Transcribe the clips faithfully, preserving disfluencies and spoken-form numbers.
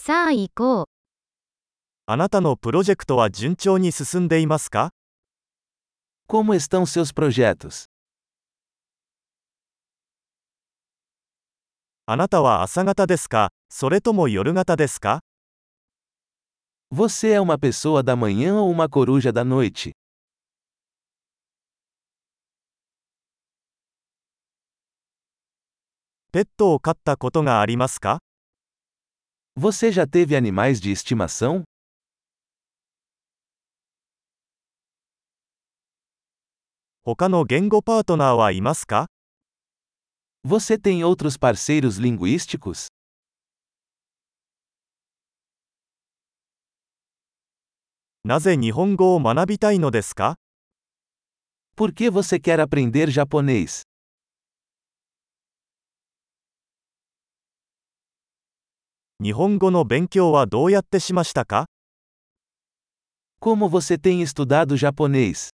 さあ行こう。 あなたのプロジェクトは順調に進んでいますか？ Como estão seus projetos? あなたは朝型ですか、それとも夜型ですか？ Você é uma pessoa da manhã ou uma coruja da noite? ペットを飼ったことがありますか？ Você já teve animais de estimação? 他の言語パートナーはいますか？ Você tem outros parceiros linguísticos? なぜ日本語を学びたいのですか？ Por que você quer aprender japonês? 日本語の勉強はどうやってしましたか？ Como você tem estudado japonês?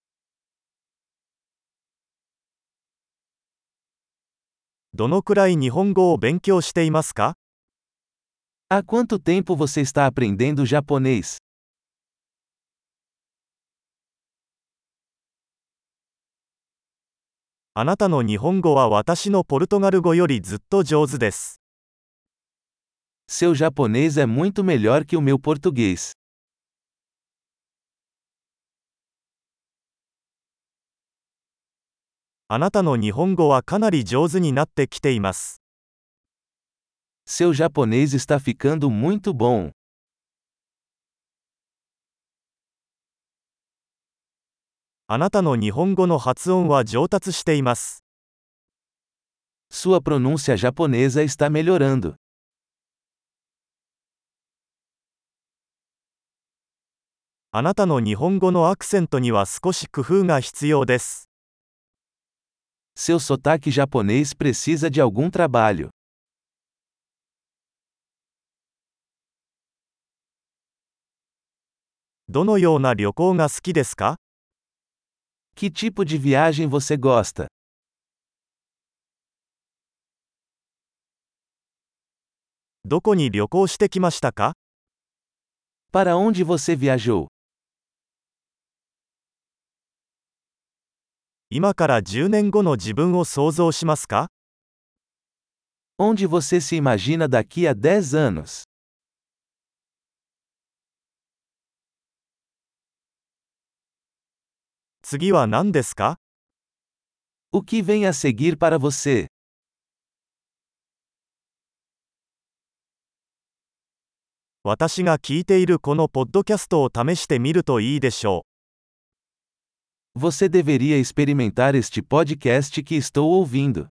どのくらい日本語を勉強していますか？ Há quanto tempo você está aprendendo japonês? あなたの日本語は私のポルトガル語よりずっと上手です。 Seu japonês é muito melhor que o meu português. あなたの日本語はかなり上手になってきています。 Seu japonês está ficando muito bom. あなたの日本語の発音は上達しています。 Sua pronúncia japonesa está melhorando. あなたの日本語のアクセントには少し工夫が必要です。 Seu sotaque japonês precisa de algum trabalho. どのような旅行が好きですか？ Que tipo de viagem você gosta? どこに旅行してきましたか？ Para onde você viajou? 今からじゅうねんごの自分を想像しますか？ Onde você se imagina daqui a dez anos? 次は何ですか？ O que vem a seguir para você? 私が聞いているこのポッドキャストを試してみるといいでしょう。 Você deveria experimentar este podcast que estou ouvindo.